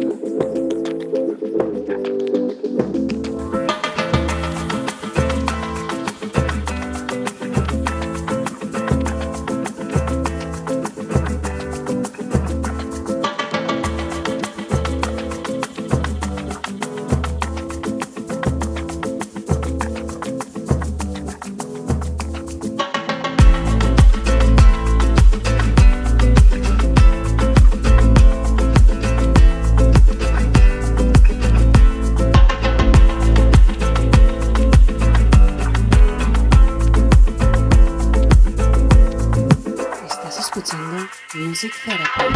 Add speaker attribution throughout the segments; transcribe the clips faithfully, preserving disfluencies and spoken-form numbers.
Speaker 1: Music Therapy.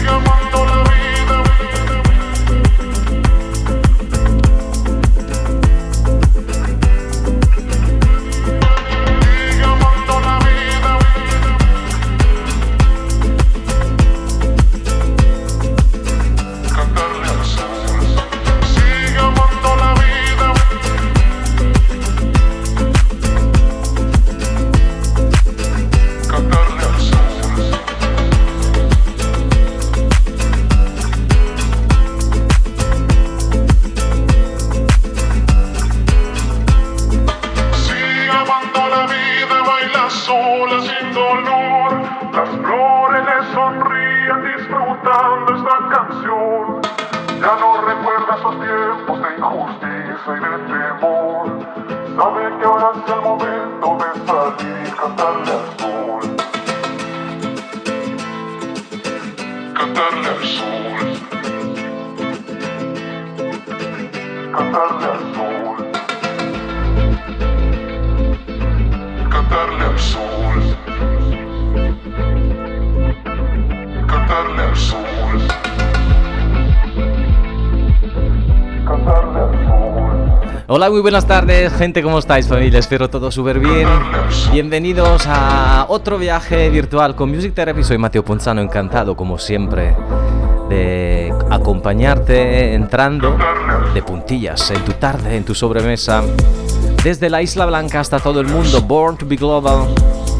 Speaker 2: Hola, muy buenas tardes, gente, ¿cómo estáis, familia? Espero todo súper bien. Bienvenidos a otro viaje virtual con Music Therapy. Soy Matteo Ponzano, encantado, como siempre, de acompañarte entrando de puntillas en tu tarde, en tu sobremesa, desde la Isla Blanca hasta todo el mundo. Born to be global.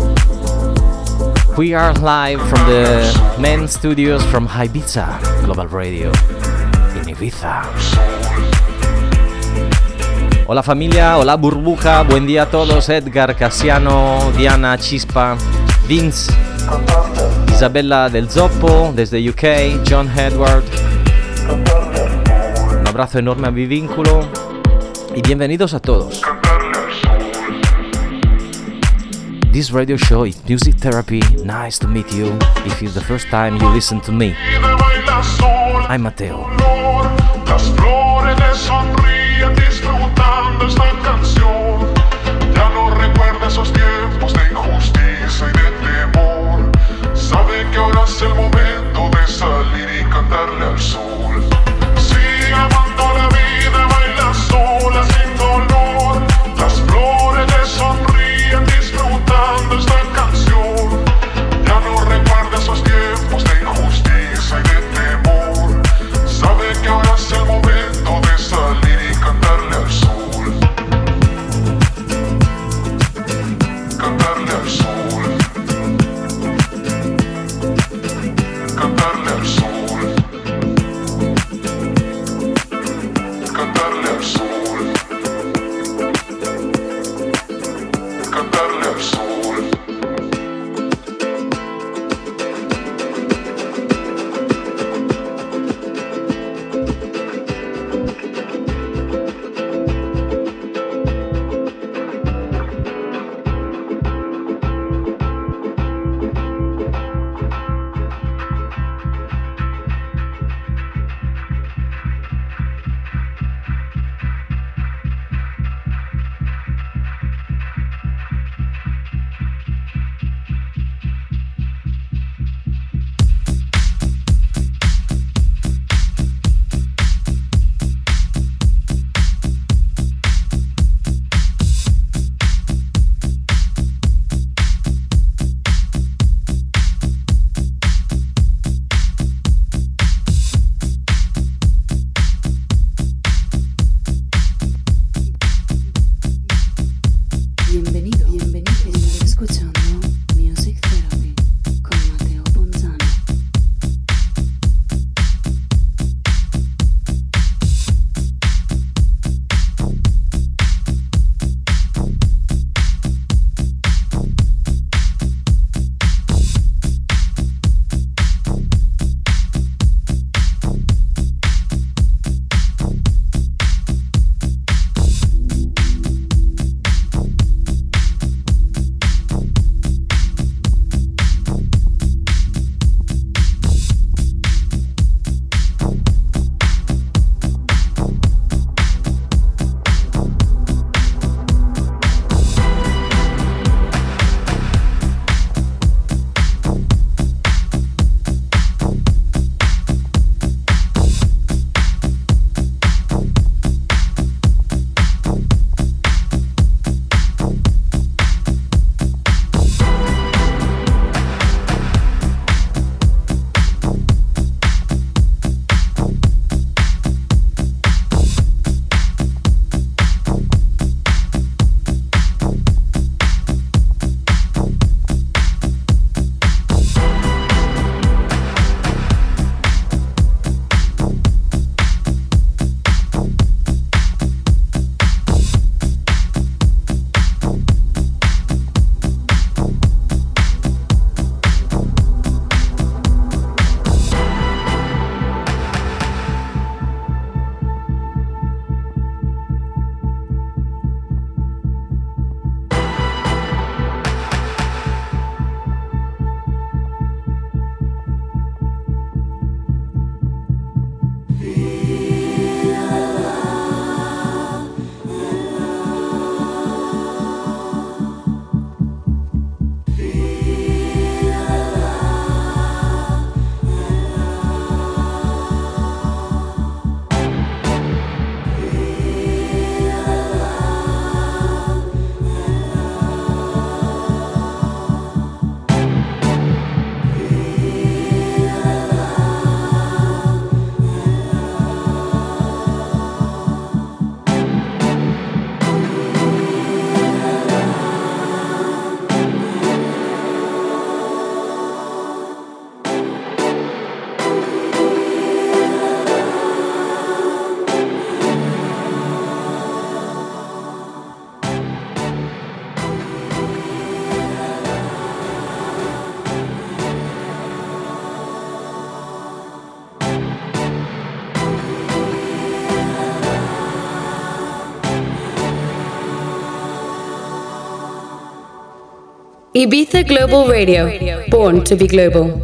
Speaker 2: We are live from the main studios from Ibiza Global Radio in Ibiza. Hola familia, hola burbuja, buen día a todos. Edgar, Casiano, Diana, Chispa, Vince, Isabella del Zoppo desde U K, John Edward. Un abrazo enorme a mi vínculo y bienvenidos a todos. This radio show is Music Therapy. Nice to meet you. If it's the first time you listen to me, I'm Matteo.
Speaker 3: Las flores le sonríen disfrutando esta canción. Ya no recuerda esos tiempos de injusticia y de temor. Sabe que ahora es el momento de salir y cantarle al sol. Sigue amando la vida, baila sola sin dolor. Las flores le sonríen disfrutando esta canción. Ya no recuerda esos tiempos de injusticia y de temor. Sabe que ahora es el momento de salir y cantarle al sol. Cantarle al sol. Cantarle al sol. Cantarle al sol. Cantarle al sol.
Speaker 1: Ibiza Global Radio, born to be global.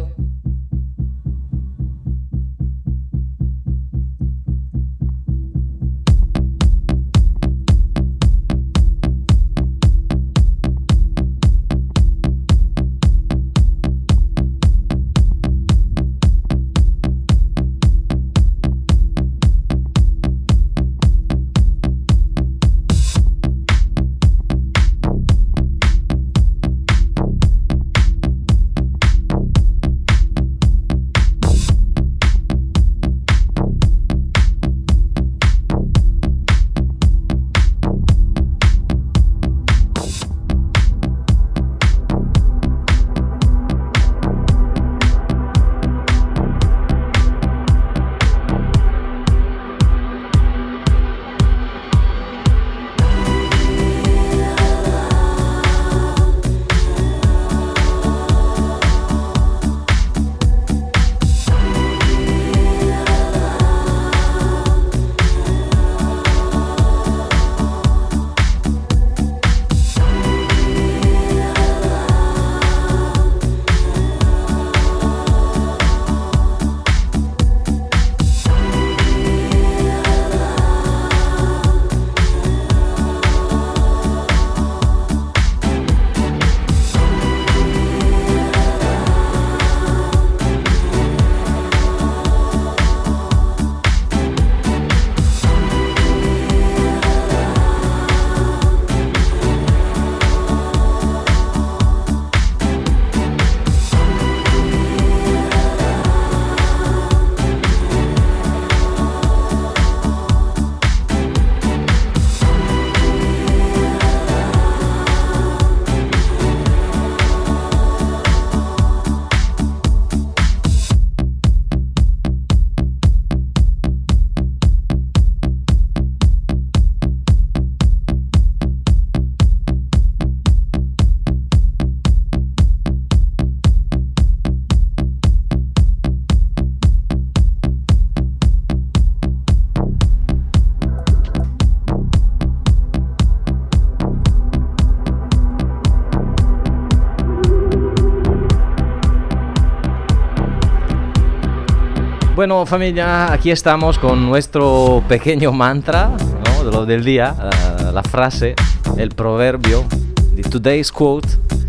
Speaker 2: Bueno, familia, aquí estamos con nuestro pequeño mantra, ¿no? De lo del día, uh, la frase, el proverbio, the today's quote.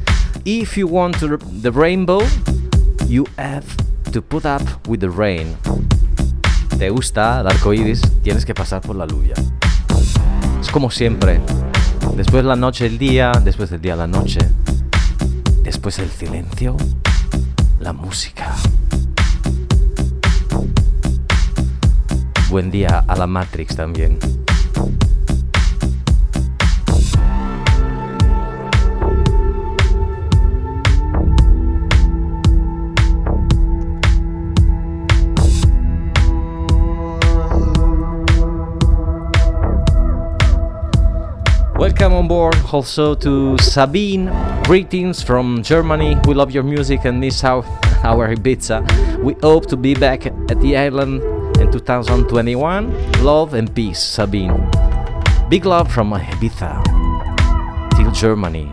Speaker 2: If you want to, the rainbow, you have to put up with the rain. ¿Te gusta el arco iris? Tienes que pasar por la lluvia. Es como siempre. Después la noche, el día, después del día, la noche. Después el silencio, la música. Buen día a la Matrix también. Welcome on board also to Sabine. Greetings from Germany. We love your music and miss our, our Ibiza. We hope to be back at the island in two thousand twenty-one. Love and peace, Sabine. Big love from Ibiza till Germany.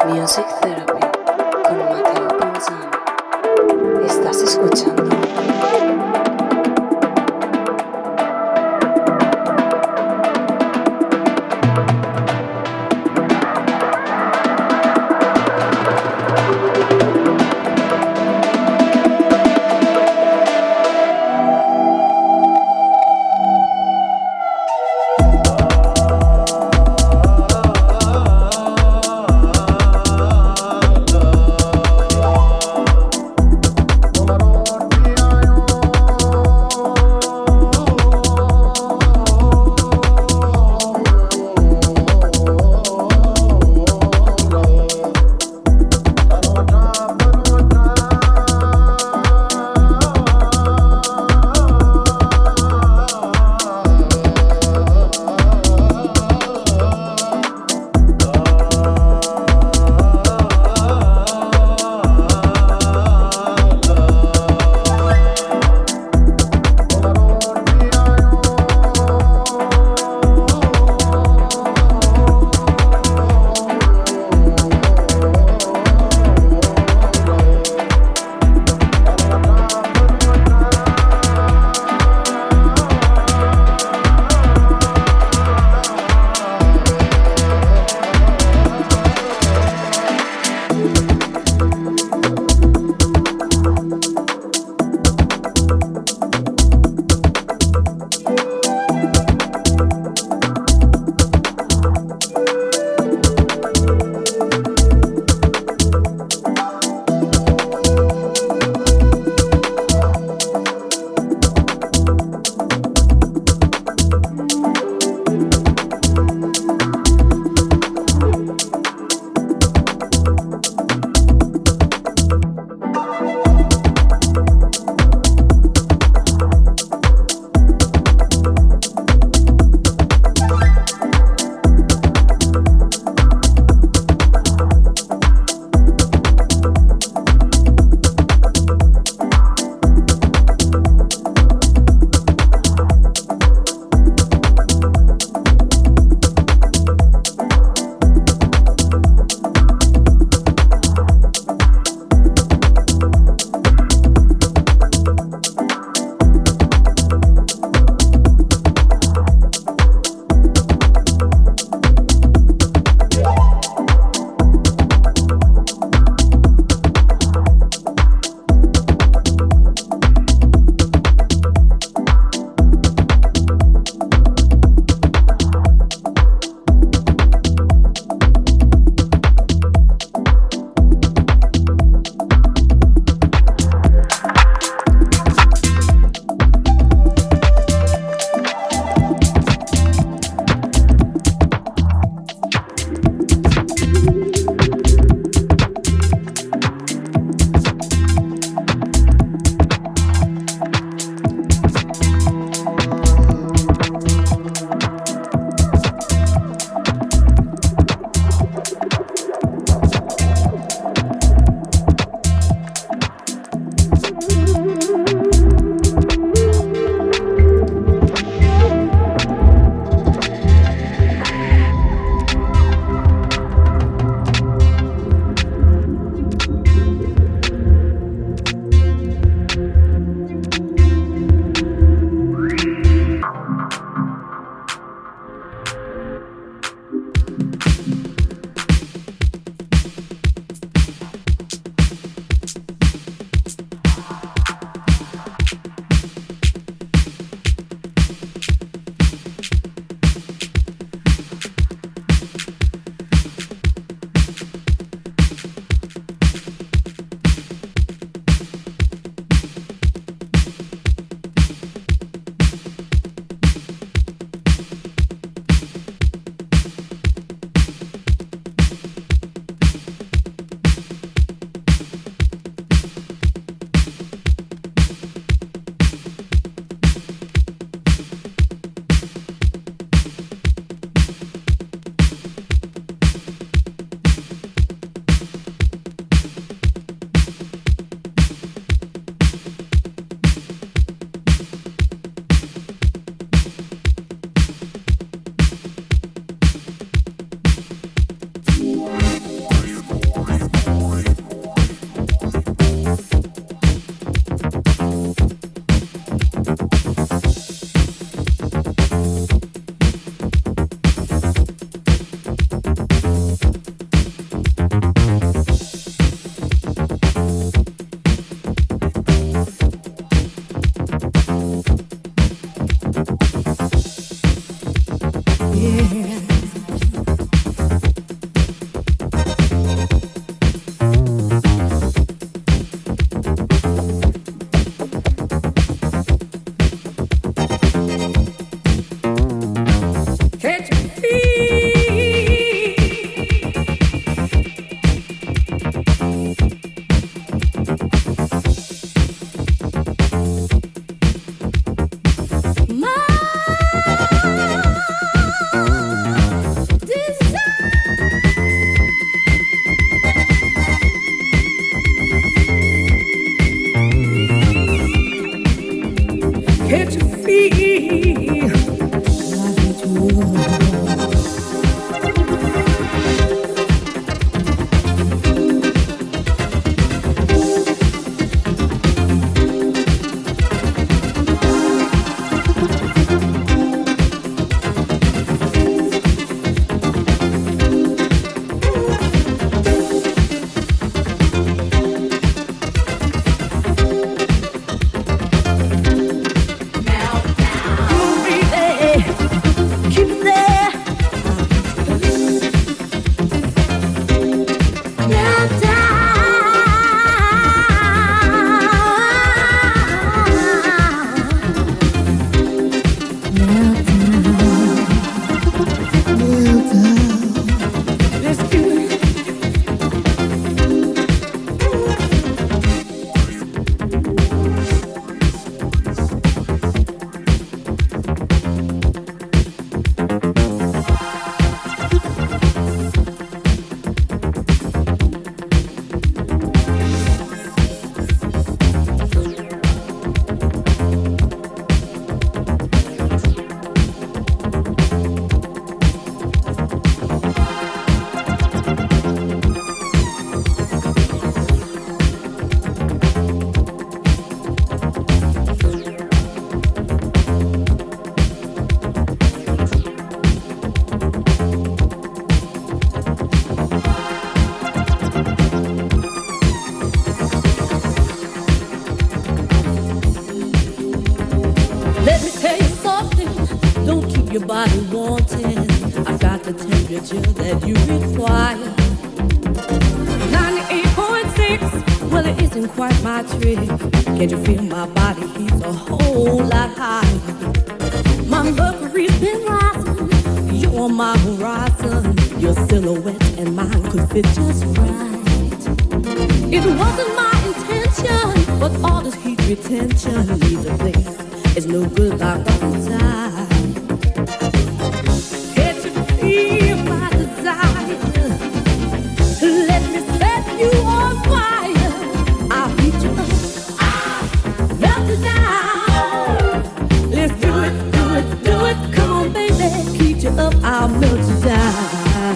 Speaker 4: Music Therapy con Matteo Ponzano. Estás escuchando
Speaker 5: temperature that you require. ninety-eight point six, well it isn't quite my trick. Can't you feel my body heat's a whole lot higher? My mercury's been rising, you're on my horizon. Your silhouette and mine could fit just right. It wasn't my intention, but all this heat retention leaves a place. It's no good like outside. Can't you feel my desire? Let me set you on fire. I'll heat you up, I'll melt you down. Let's do it, do it, do it. Come on, baby, heat you up, I'll melt you down.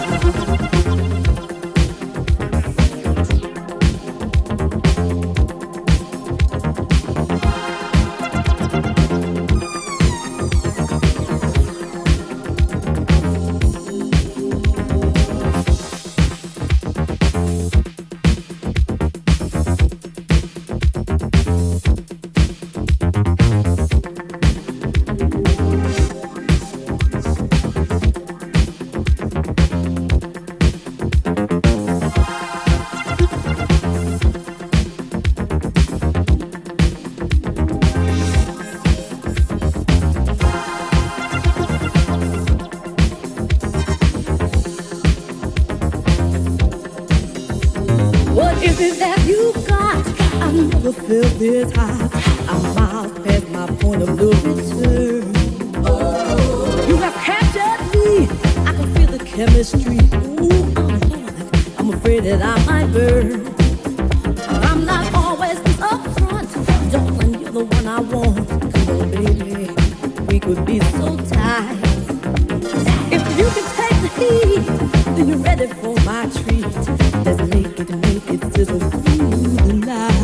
Speaker 5: Feel this hot, I'm miles past my point of no return. Oh, you have captured me, I can feel the chemistry. Ooh, I'm Lord, I'm afraid that I might burn. I'm not always upfront, darling, you're the one I want. Come on, baby, we could be so tight. If you can take the heat, then you're ready for my treat. Let's make it, make it sizzle through the night.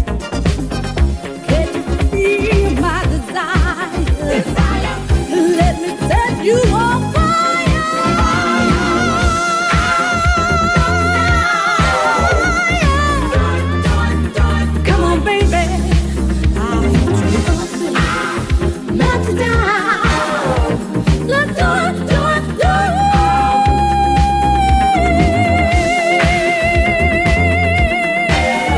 Speaker 5: Let me set you on fire. Come on, baby, I'll heat you up, melt you down. Let's do it, do it, do it.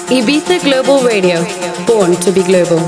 Speaker 1: Ibiza Global Radio, born to be global.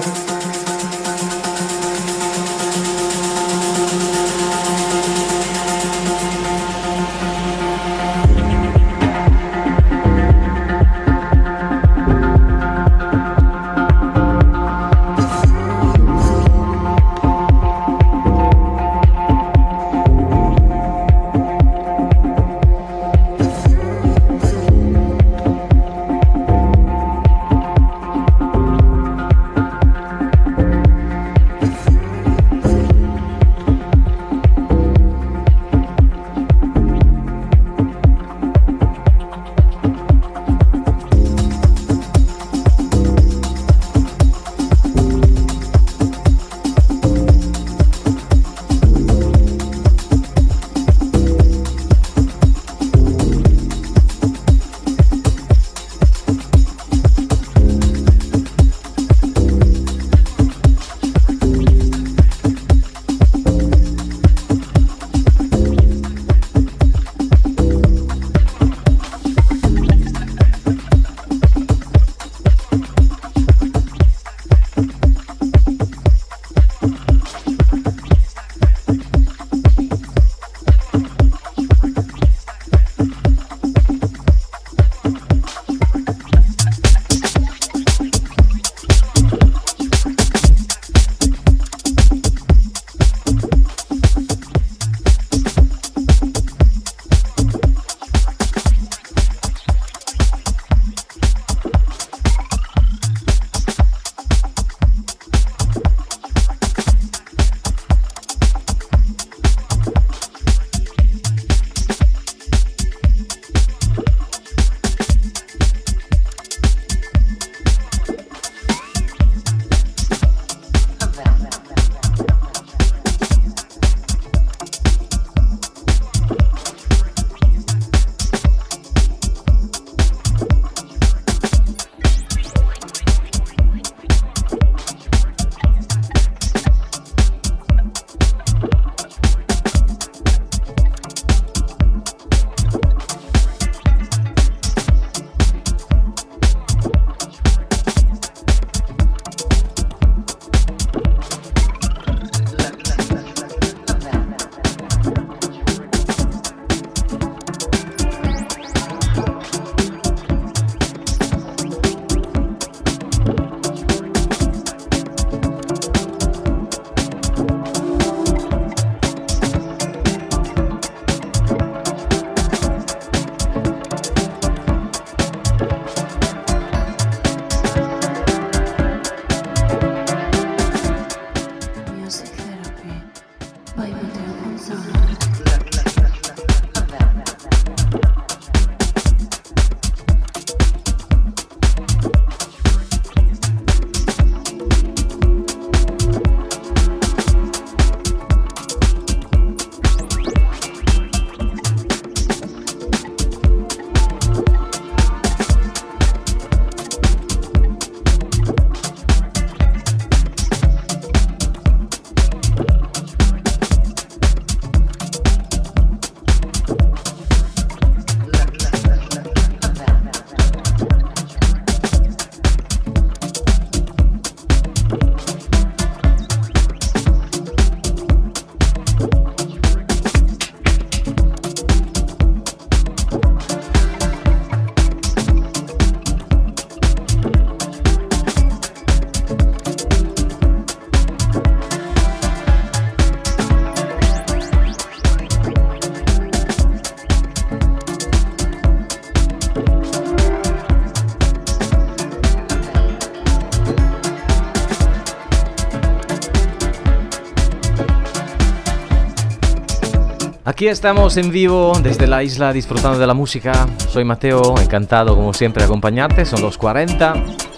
Speaker 2: Aquí estamos en vivo desde la isla disfrutando de la música. Soy Mateo, encantado como siempre de acompañarte. Son los cuarenta.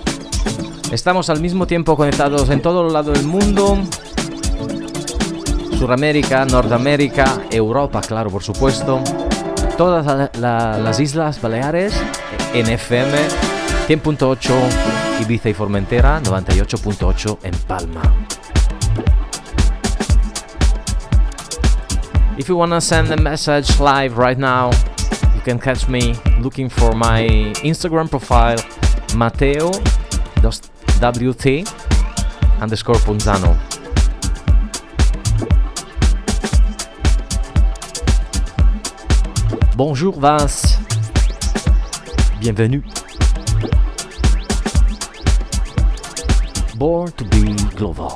Speaker 2: Estamos al mismo tiempo conectados en todo el lado del mundo. Suramérica, Norteamérica, Europa, claro, por supuesto. Todas la, la, las Islas Baleares en F M, cien punto ocho Ibiza y Formentera, noventa y ocho punto ocho en Palma. If you wanna send a message live right now, you can catch me looking for my Instagram profile, Matteo W T underscore Ponzano. Bonjour Vince, bienvenue. Born to be global.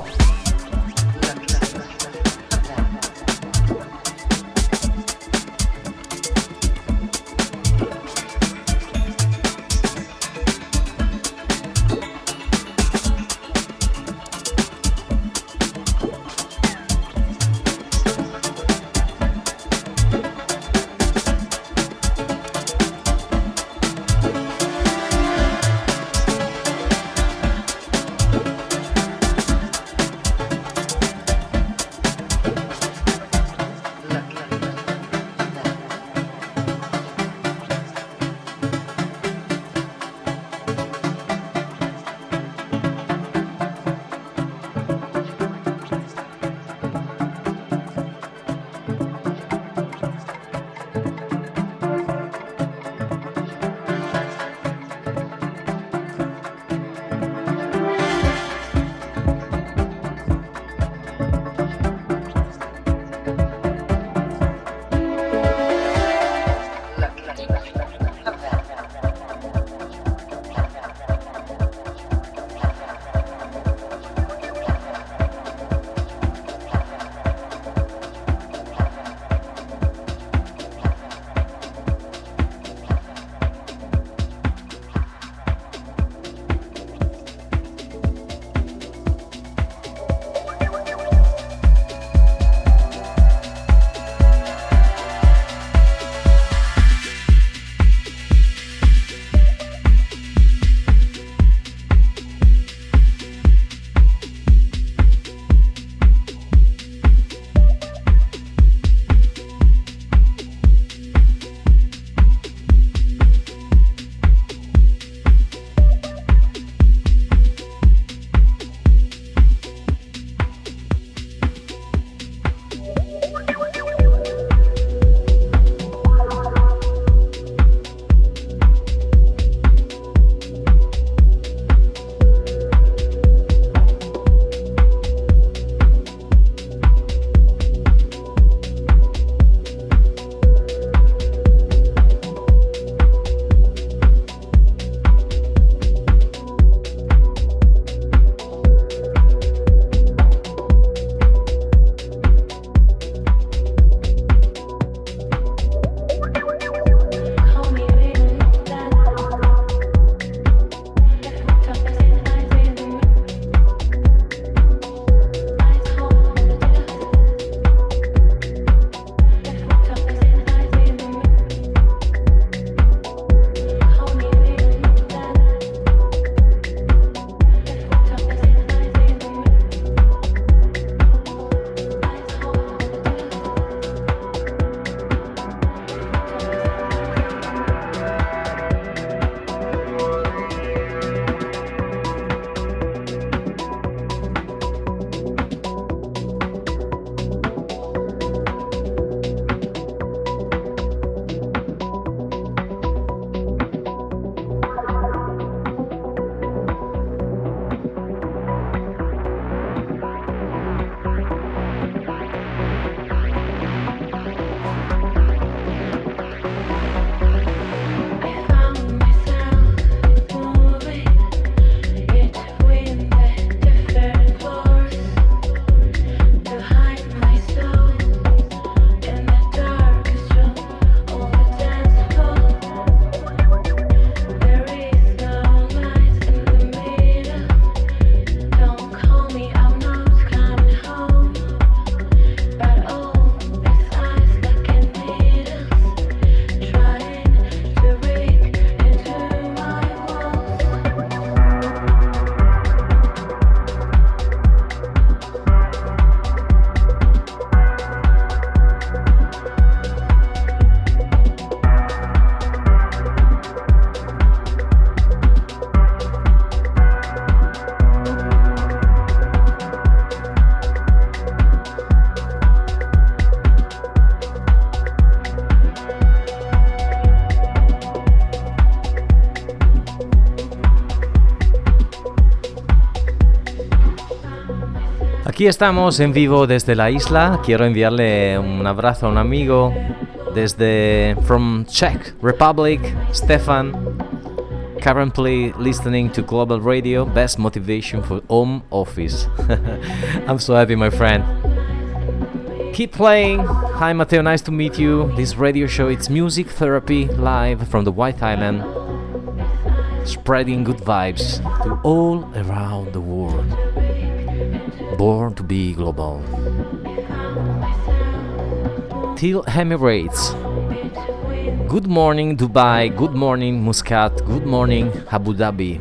Speaker 2: Aquí estamos en vivo desde la isla. Quiero enviarle un abrazo a un amigo desde from Czech Republic, Stefan, currently listening to Global Radio, best motivation for home office. I'm so happy, my friend. Keep playing. Hi Matteo, nice to meet you. This radio show, it's Music Therapy live from the White Island, spreading good vibes to all around the world. Born to be global. Till Emirates. Good morning Dubai, good morning Muscat, good morning Abu Dhabi.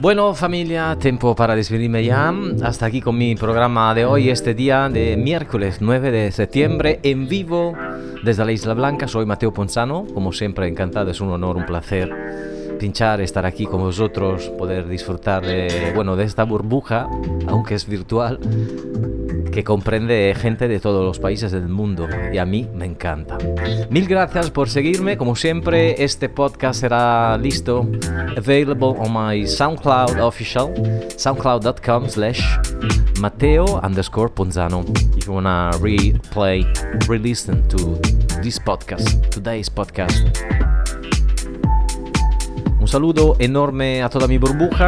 Speaker 2: Bueno, familia, tiempo para despedirme ya. Hasta aquí con mi programa de hoy, este día de miércoles nueve de septiembre, en vivo desde la Isla Blanca. Soy Matteo Ponzano, como siempre encantado, es un honor, un placer pinchar, estar aquí con vosotros, poder disfrutar de, bueno, de esta burbuja, aunque es virtual, que comprende gente de todos los países del mundo, y a mí me encanta. Mil gracias por seguirme, como siempre. Este podcast será listo, available on my SoundCloud official, soundcloud.com slash Matteo underscore Ponzano, if you wanna replay, re-listen to this podcast, today's podcast. Un saludo enorme a toda mi burbuja.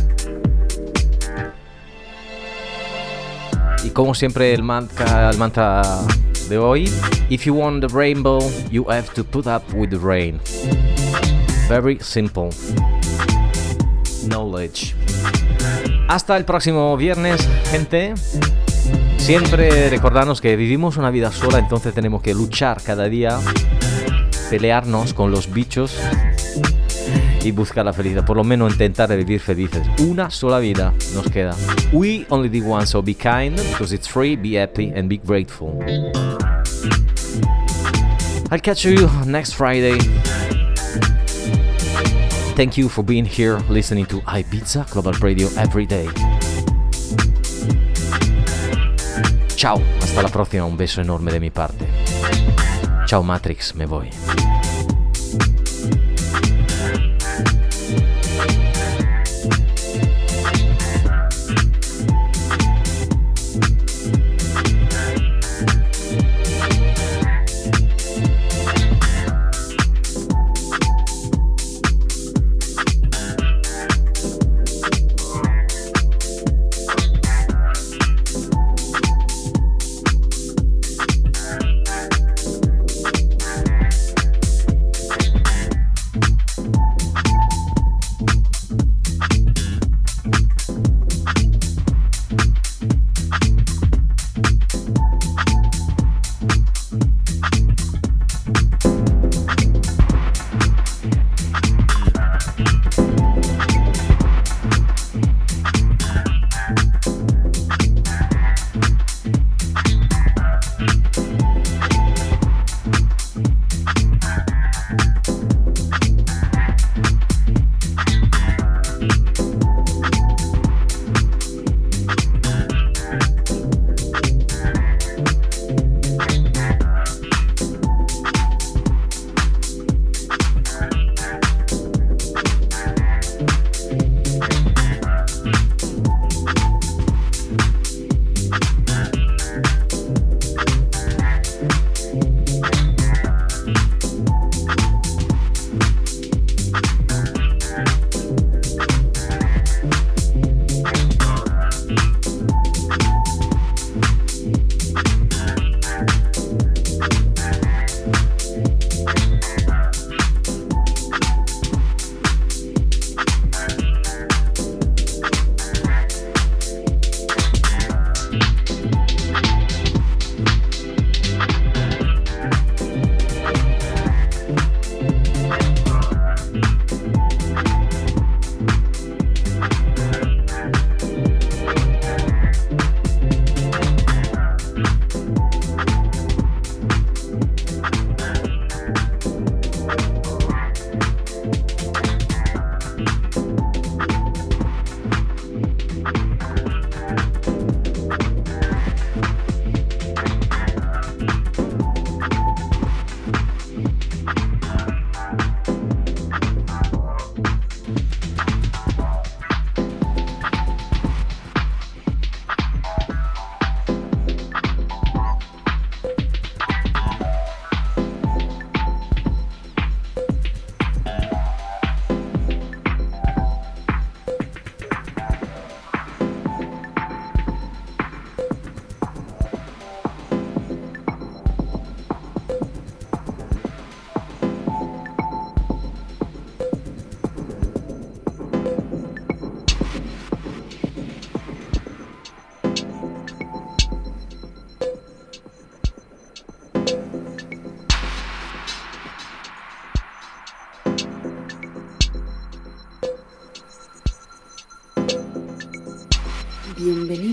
Speaker 2: Y como siempre el mantra, el mantra de hoy: if you want the rainbow, you have to put up with the rain. Very simple. Knowledge. Hasta el próximo viernes, gente. Siempre recordarnos que vivimos una vida sola, entonces tenemos que luchar cada día, pelearnos con los bichos y buscar la felicidad, por lo menos intentar vivir felices. Una sola vida nos queda. We only live once, so be kind, because it's free, be happy and be grateful. I'll catch you next Friday. Thank you for being here, listening to Ibiza Global Radio every day. Ciao, hasta la próxima, un beso enorme de mi parte. Ciao Matrix, me voy.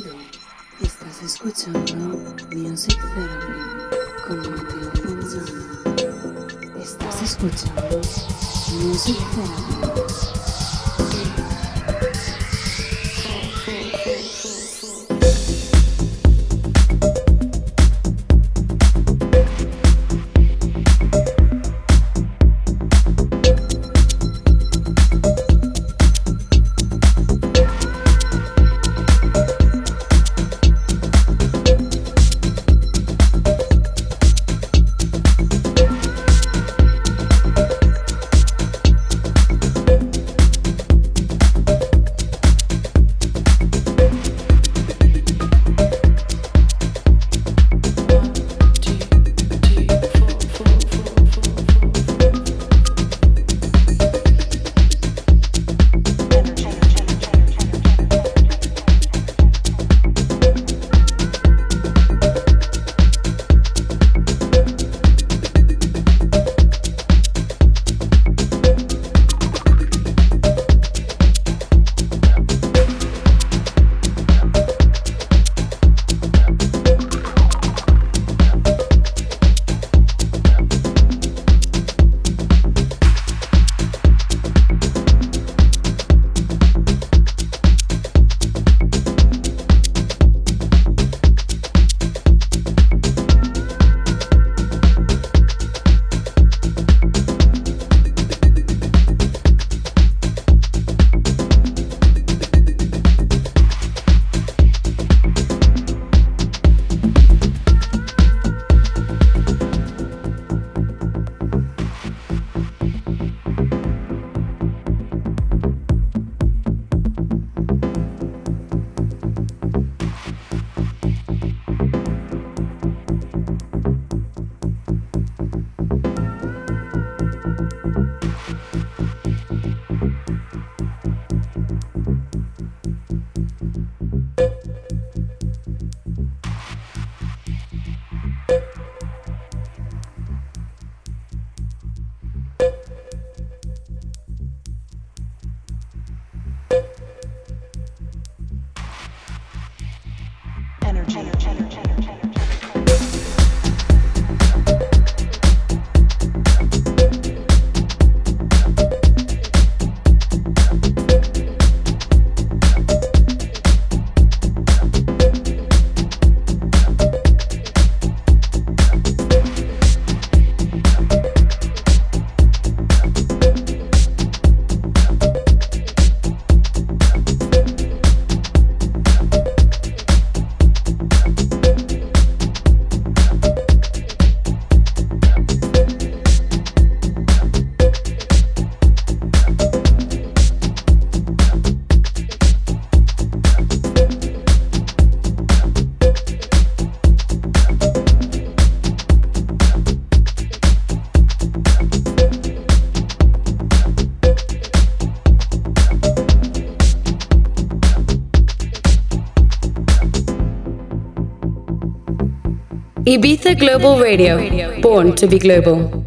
Speaker 4: Estás escuchando Music Therapy con Mateo Ponzano. Estás escuchando Music Therapy.
Speaker 1: Ibiza Global Radio, born to be global.